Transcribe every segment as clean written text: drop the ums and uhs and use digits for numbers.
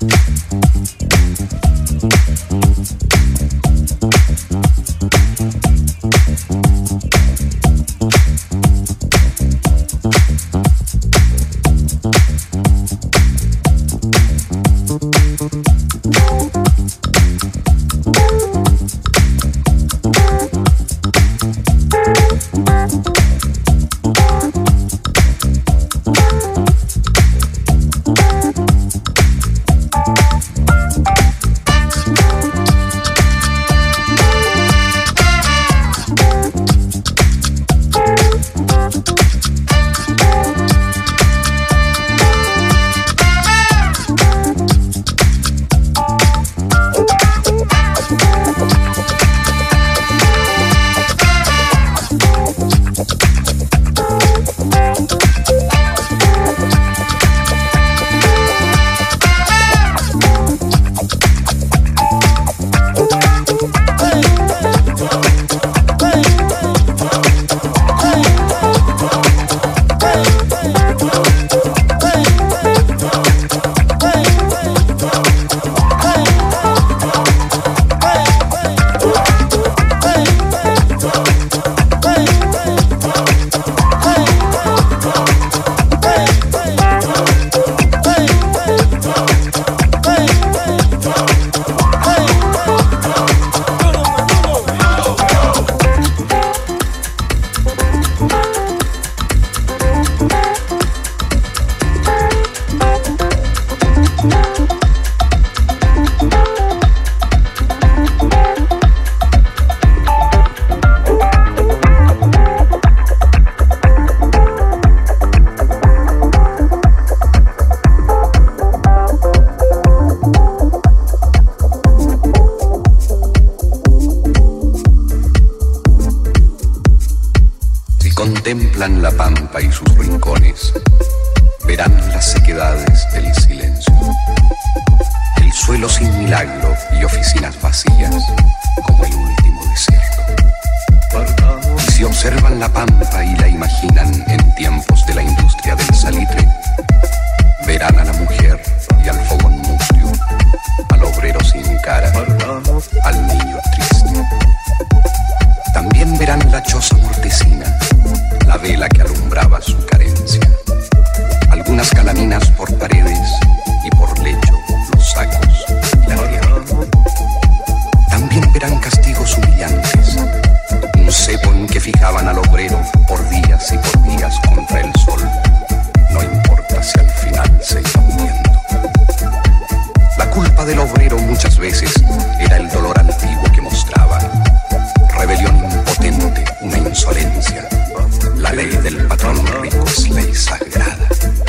contemplan la pampa y sus rincones, verán las sequedades del silencio, el suelo sin milagro y oficinas vacías como el último desierto. Y si observan la pampa y la imaginan en tiempos de la industria del salitre, verán a la mujer y al fogón mustio, al obrero sin cara, al niño triste. También verán la choza mortecina, la vela que alumbraba su carencia, algunas calaminas por paredes y por lecho los sacos y la tierra. También verán castigos humillantes, un cepo en que fijaban al obrero por días y por días contra el sol, no importa si al final se iba muriendo. La culpa del obrero muchas veces era el dolor antiguo que mostraba, rebelión impotente, una insolencia. La ley del patrón rico es ley sagrada.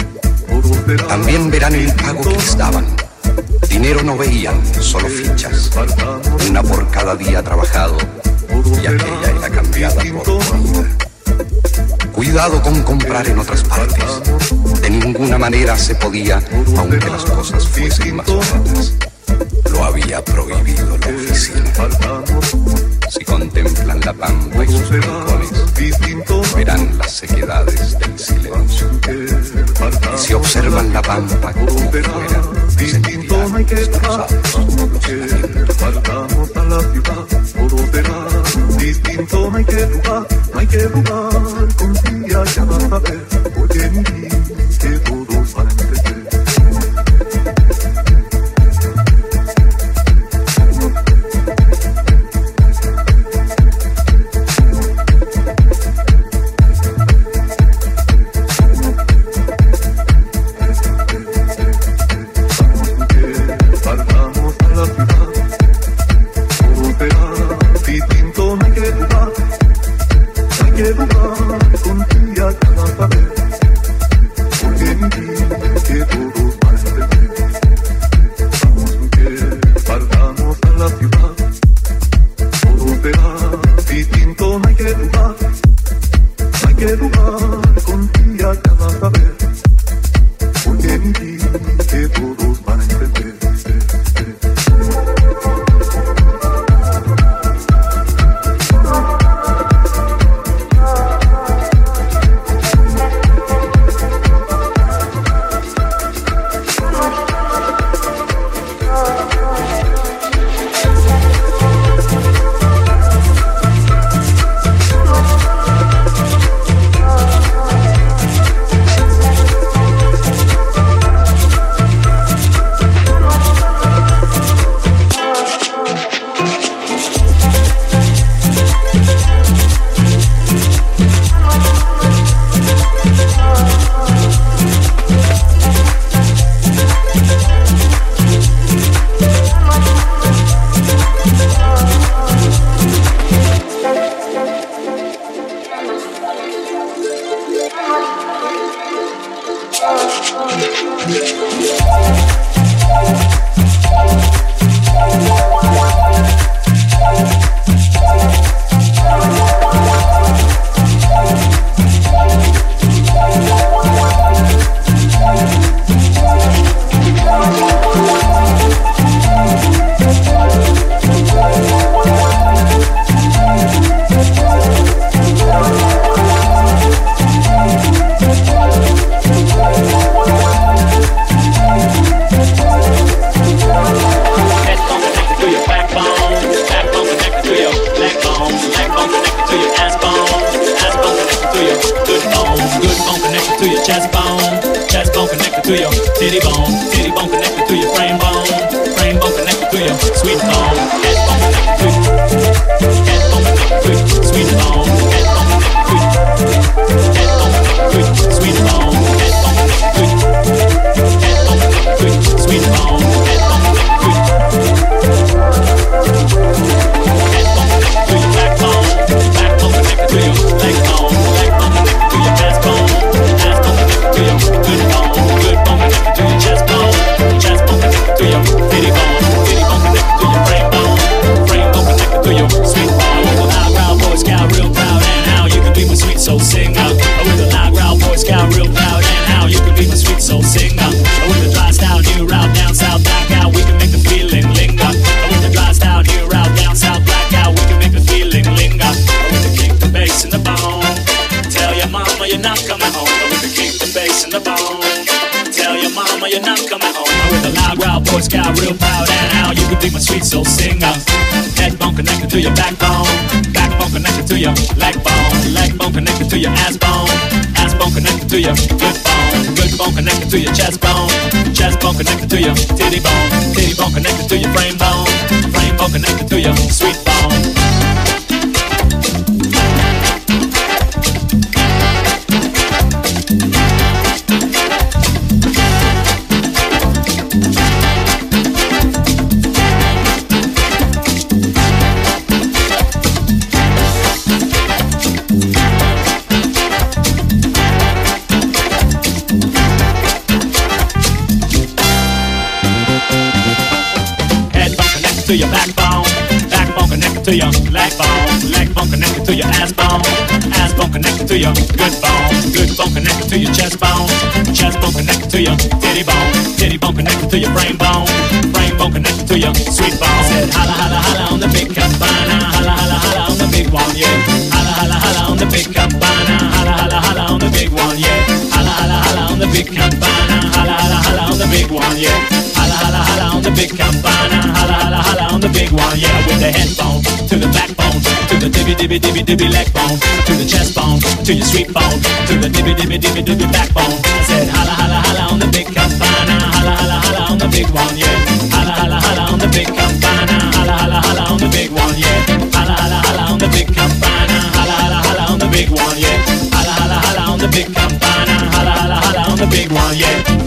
También verán el pago que les daban. Dinero no veían, solo fichas, una por cada día trabajado, y aquella era cambiada por comida. Cuidado con comprar en otras partes. De ninguna manera se podía, aunque las cosas fuesen más baratas. Lo había prohibido la oficina. Si contemplan la pampa y sus rincones, verán las sequedades del silencio. Y si observan la pampa como fuera, sentirán destrozados los Partamos a la ciudad, todo será distinto, no hay que jugar, confía, ya vas a ver, porque mi vida que todos van a empezar. to your backbone, backbone connected to your leg bone connected to your ass bone connected to your good bone connected to your chest bone connected to your titty bone connected to your brain bone connected to your sweet bone. Said holla holla holla on the big cabana, holla holla holla on the big one, yeah. Holla holla holla on the big cabana, holla holla holla on the big one, yeah. Holla holla holla on the big cabana, holla holla holla on the big one, yeah. Holla holla holla on the big cabana, holla holla holla on the big one, yeah. With the head bone to the backbone, to the dibby leg bone, to the chest bone, to your sweet bone, to the dibby backbone. I said holla holla holla on the big cabana, holla holla holla on the big one, yeah. Holla holla holla on the big cabana, holla holla holla on the big one, yeah. Holla holla holla on the big cabana, holla holla holla on the big one, yeah. Holla holla holla on the big cabana, holla holla holla on the big one, yeah.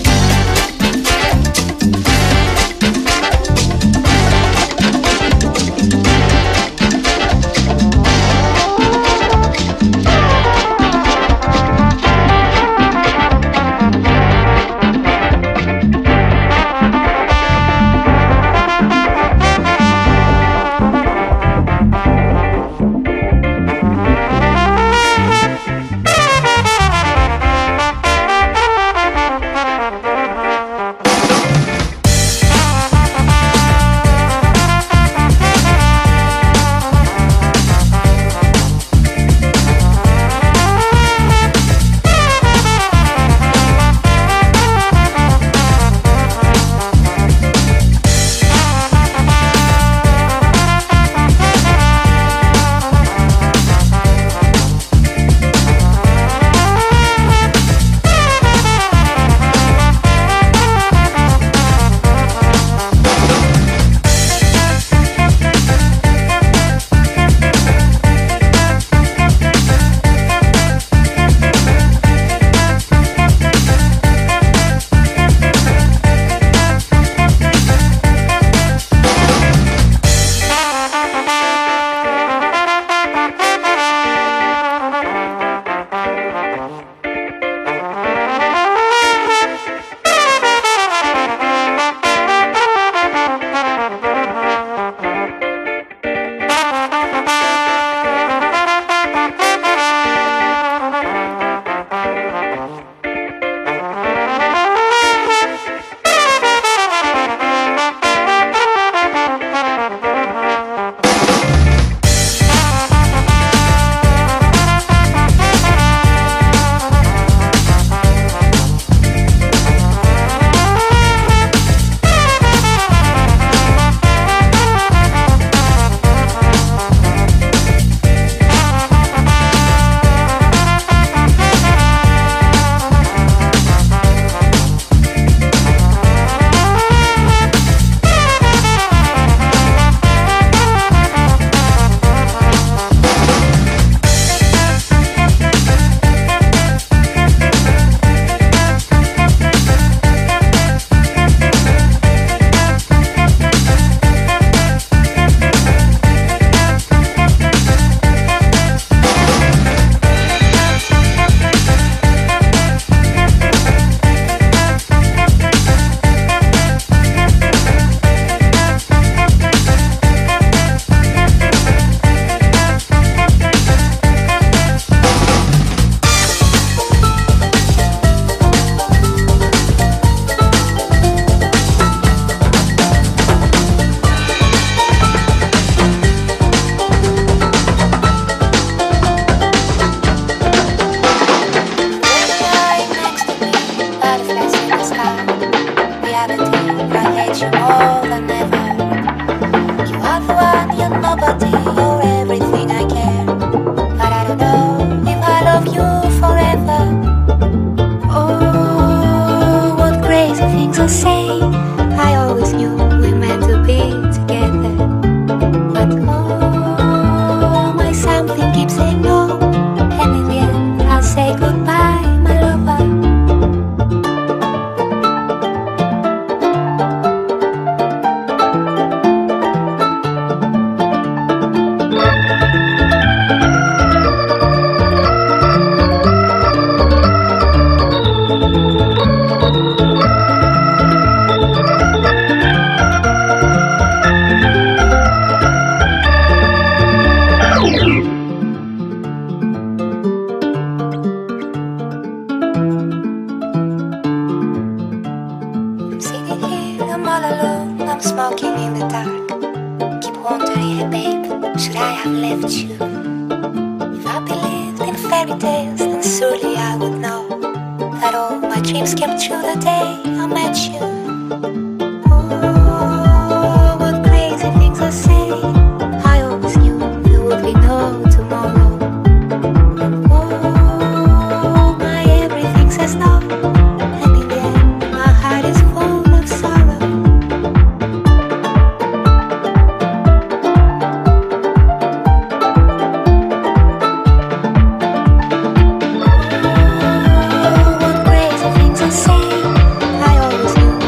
I always knew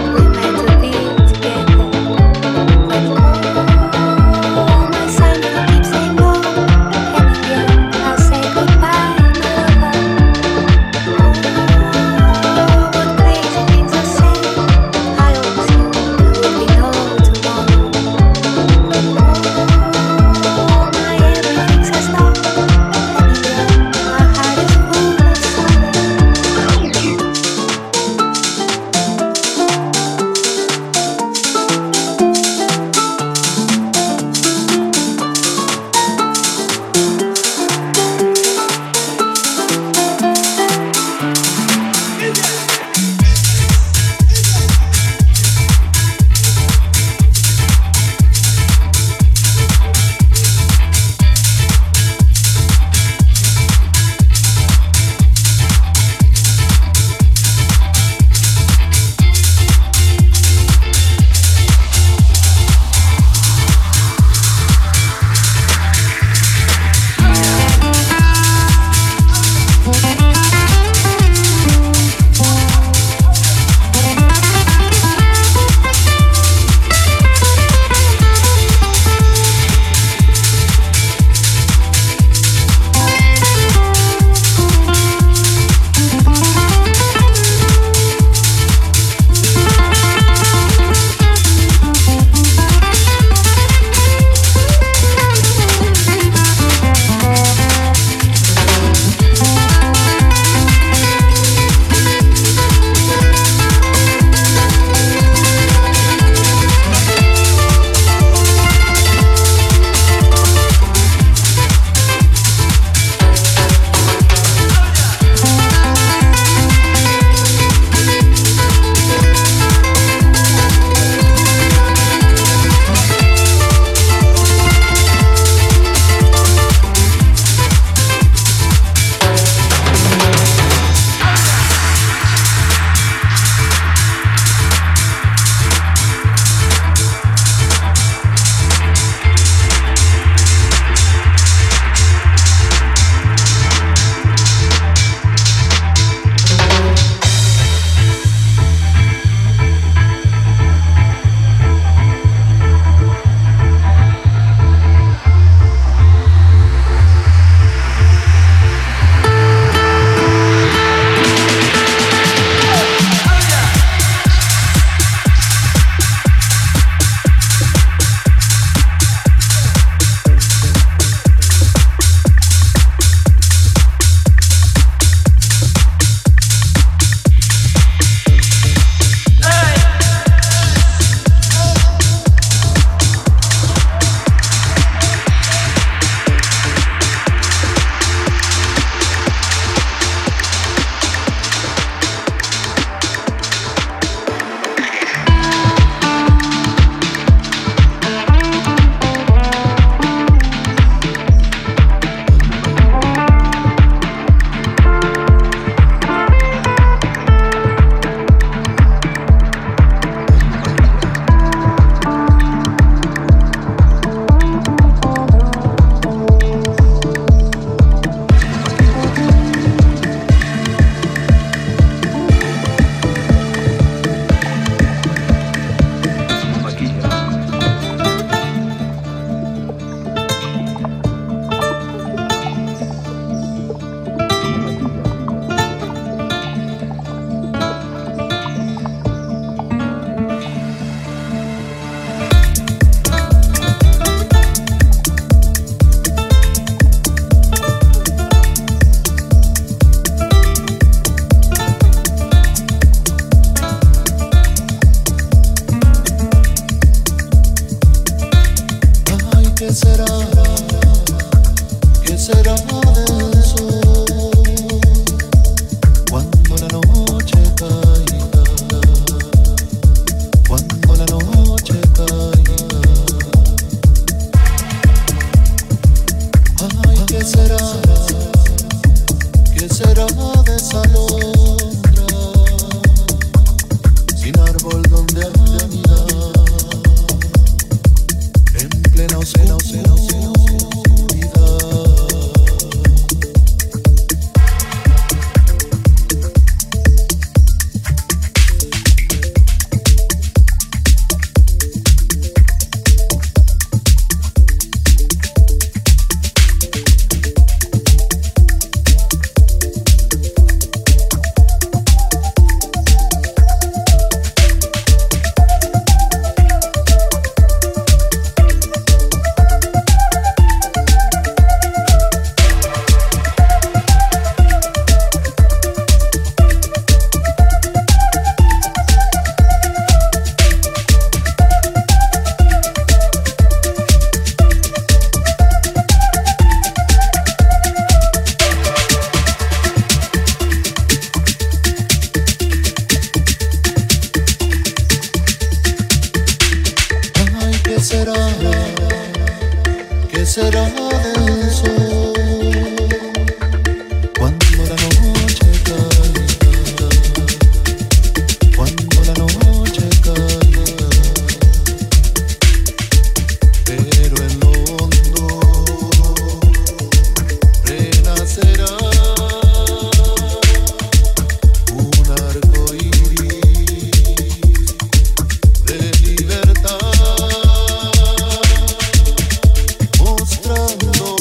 mostrando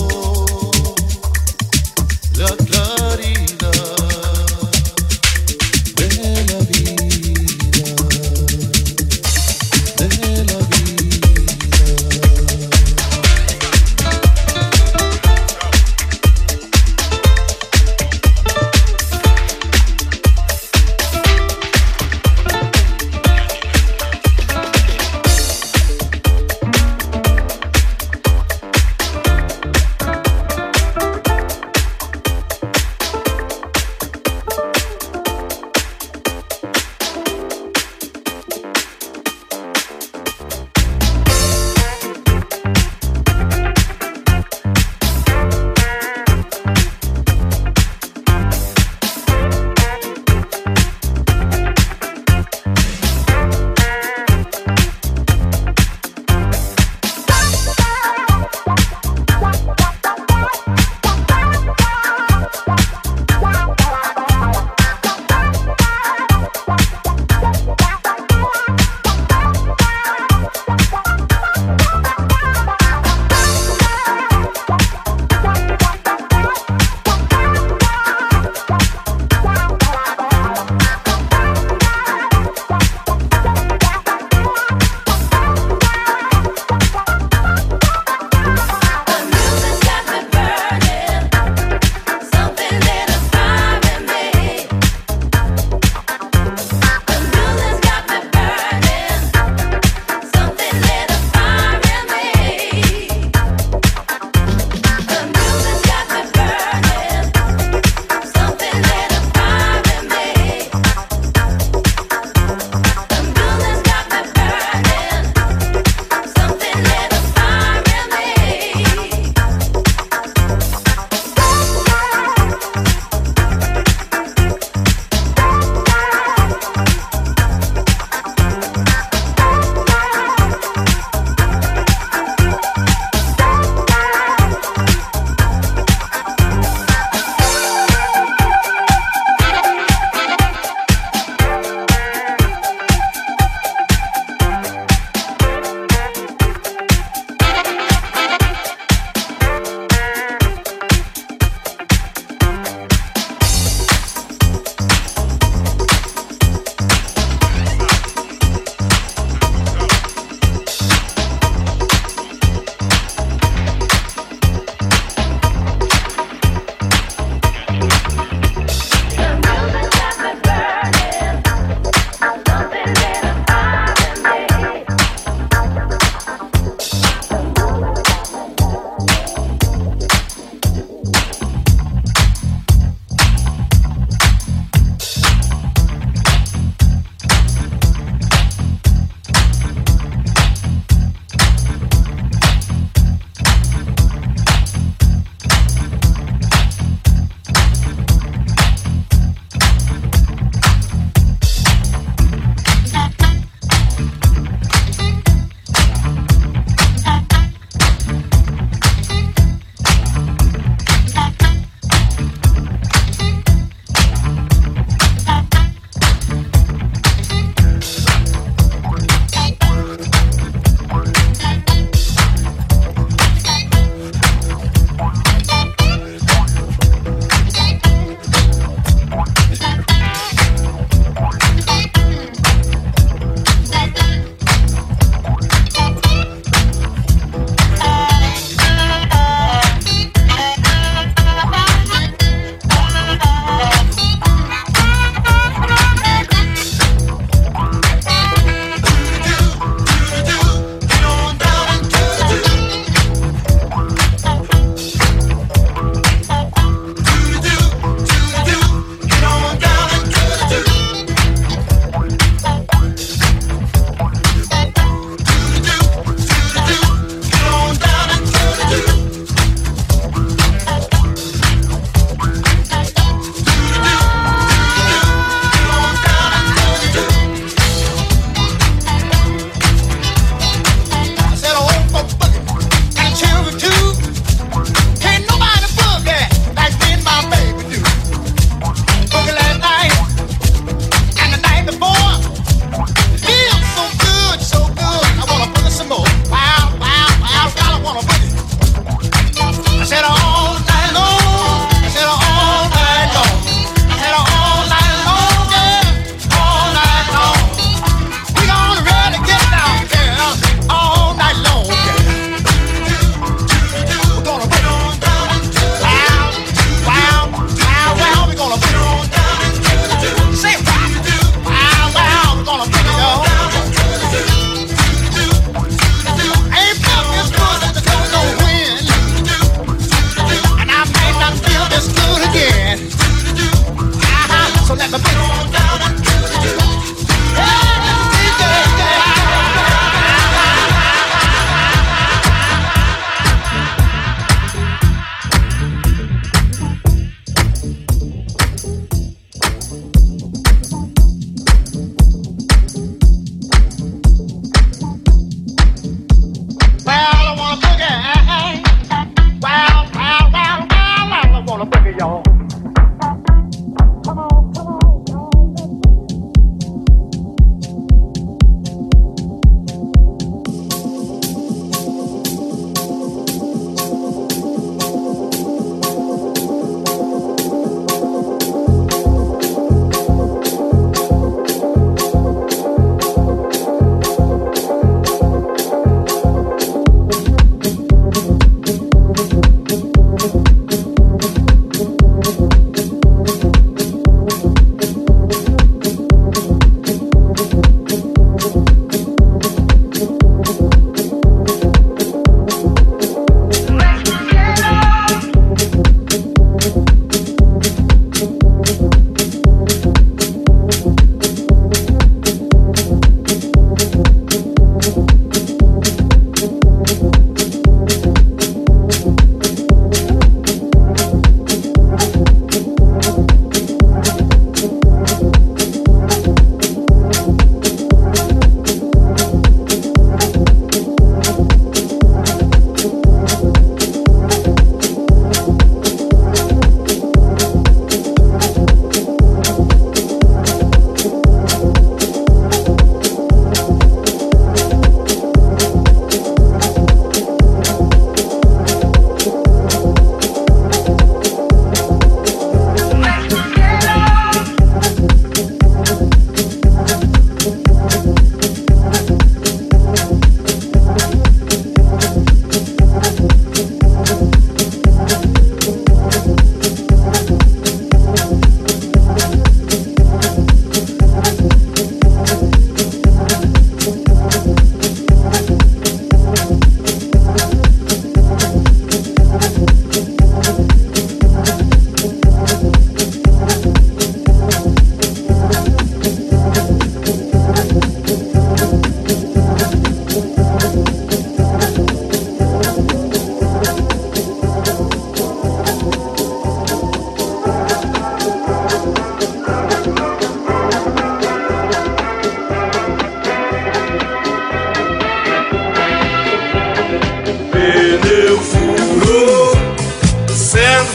Pneu furou, sendo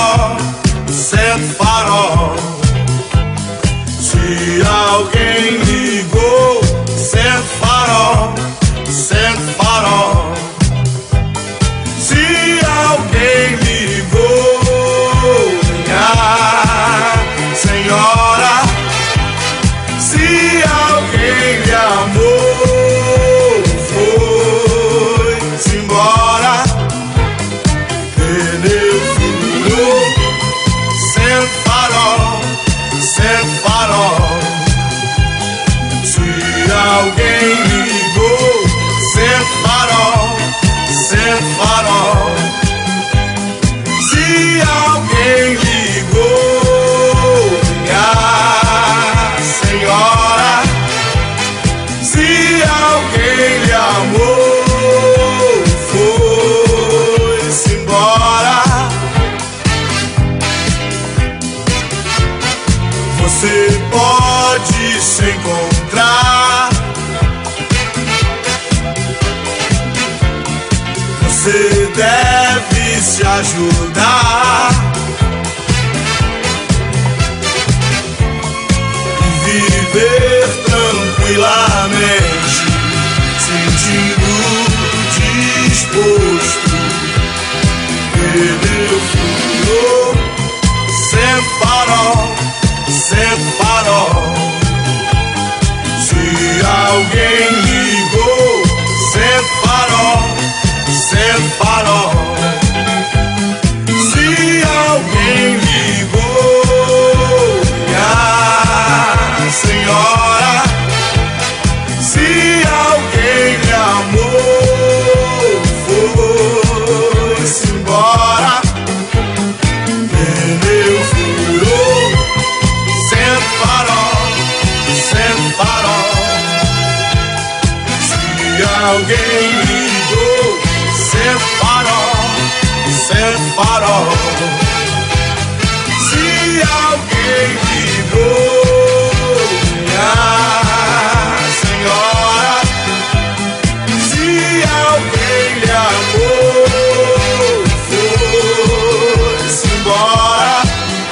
farol. Se alguém ligou, sendo farol. Se alguém ligou, minha senhora, se alguém lhe amou, foi-se embora. Pneu furou, sendo farol. Se alguém ligou, sendo farol. Se alguém ligou, minha senhora, se alguém lhe amou, foi-se embora. Você pode se encontrar, você deve se ajudar e viver tranquilamente, sentindo disposto. Pneu furou, sendo farol. Se alguém ligou, sendo farol. Se alguém ligou, minha senhora, se alguém lhe amou, foi-se embora. Pneu furou, sendo farol. Se alguém ligou, sendo farol. Se alguém ligou, minha senhora, se alguém lhe amou, foi-se embora.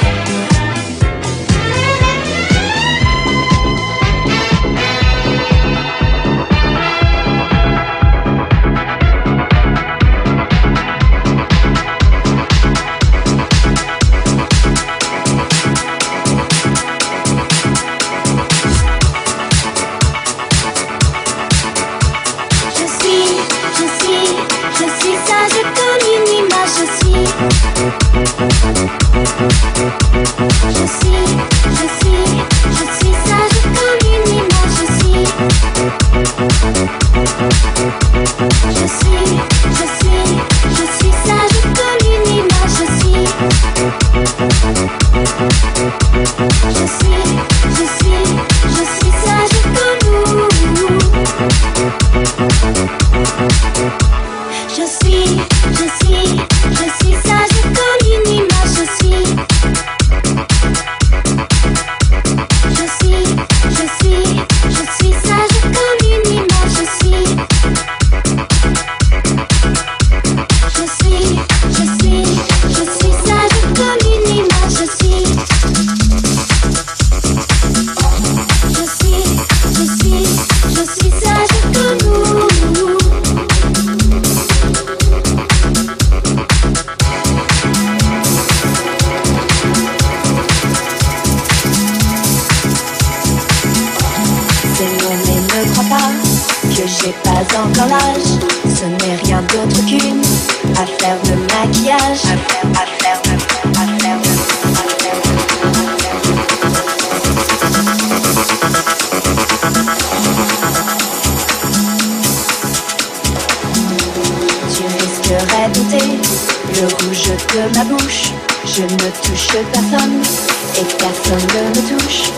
Le rouge de ma bouche, je ne touche personne et personne ne me touche.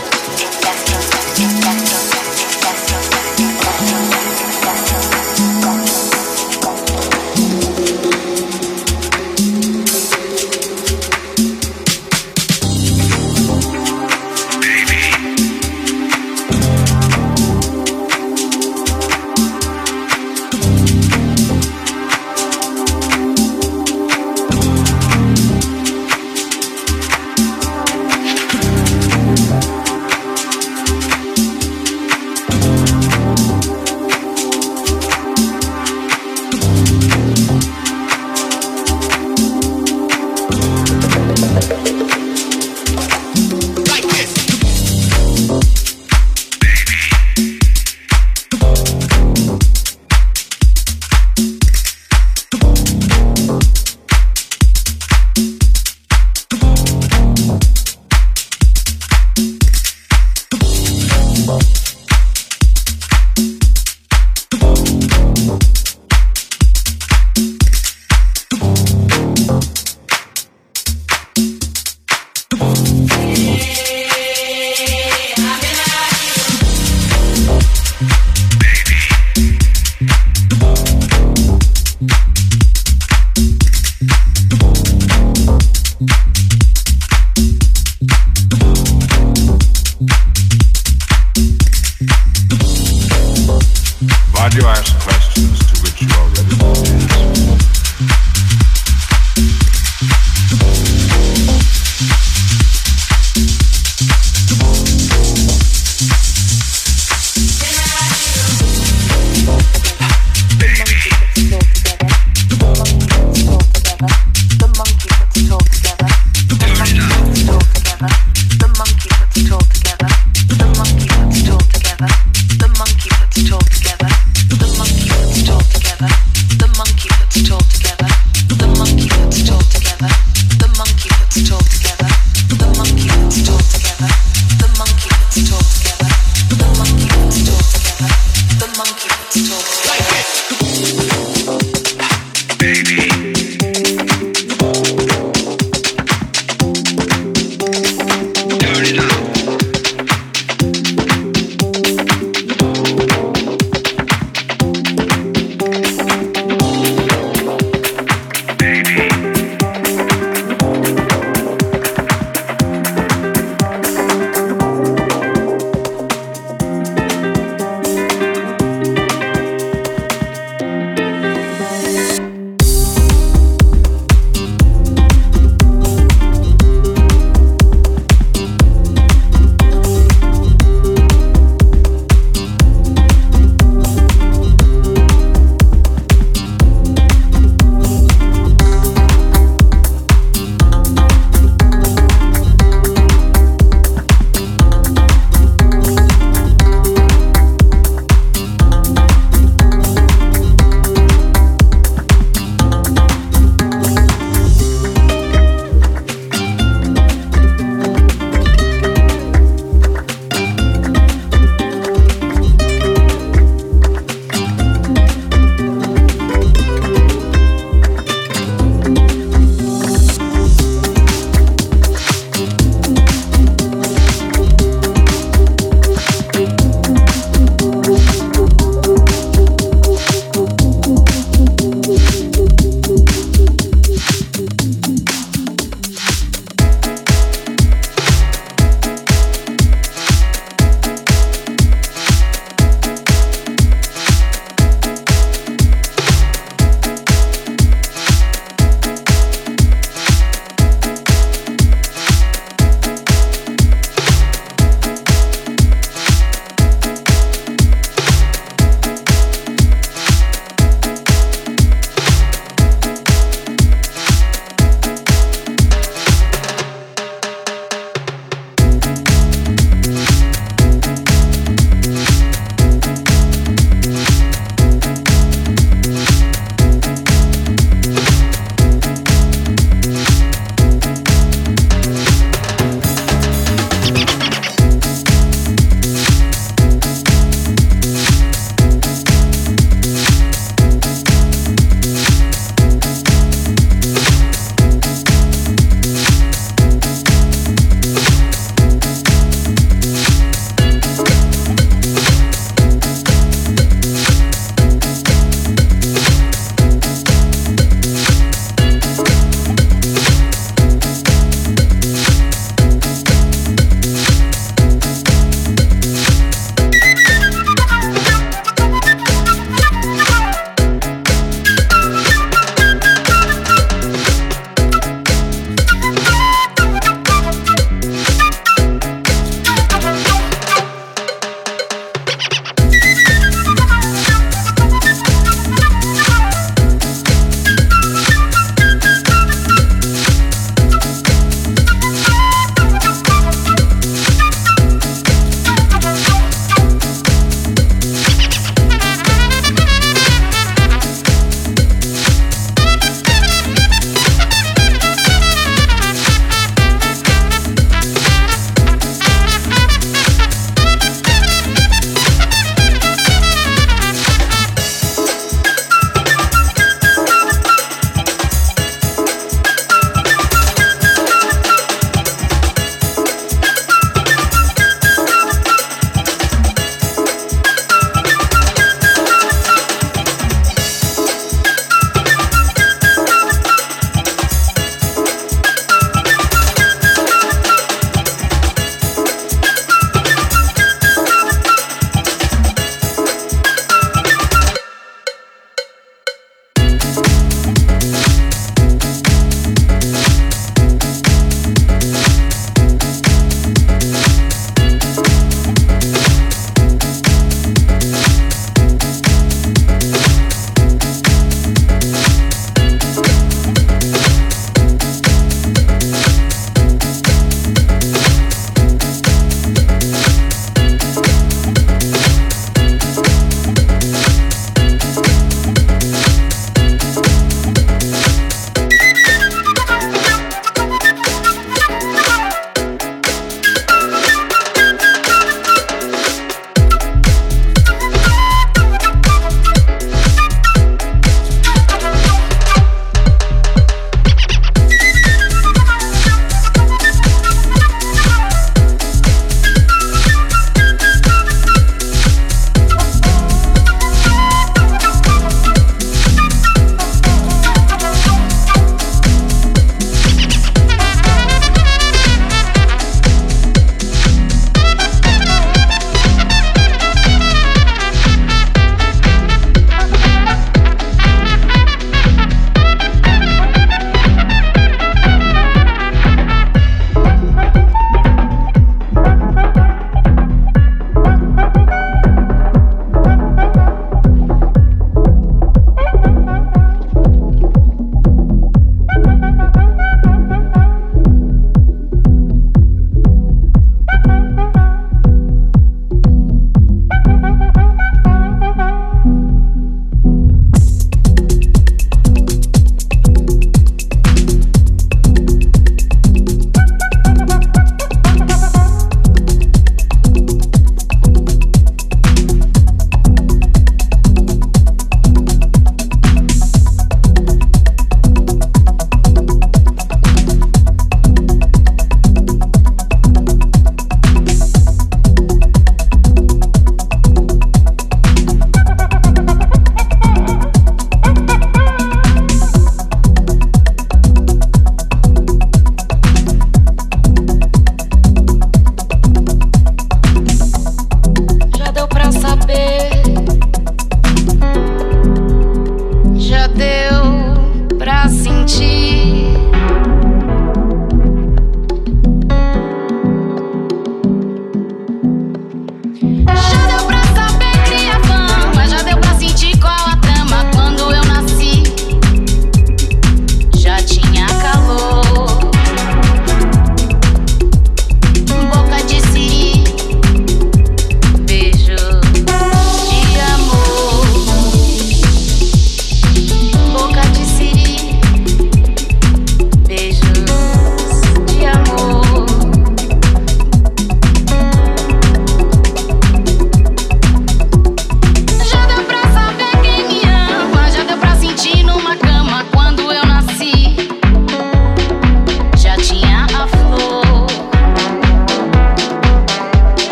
you ask questions to which you are ready for the answer. Baby.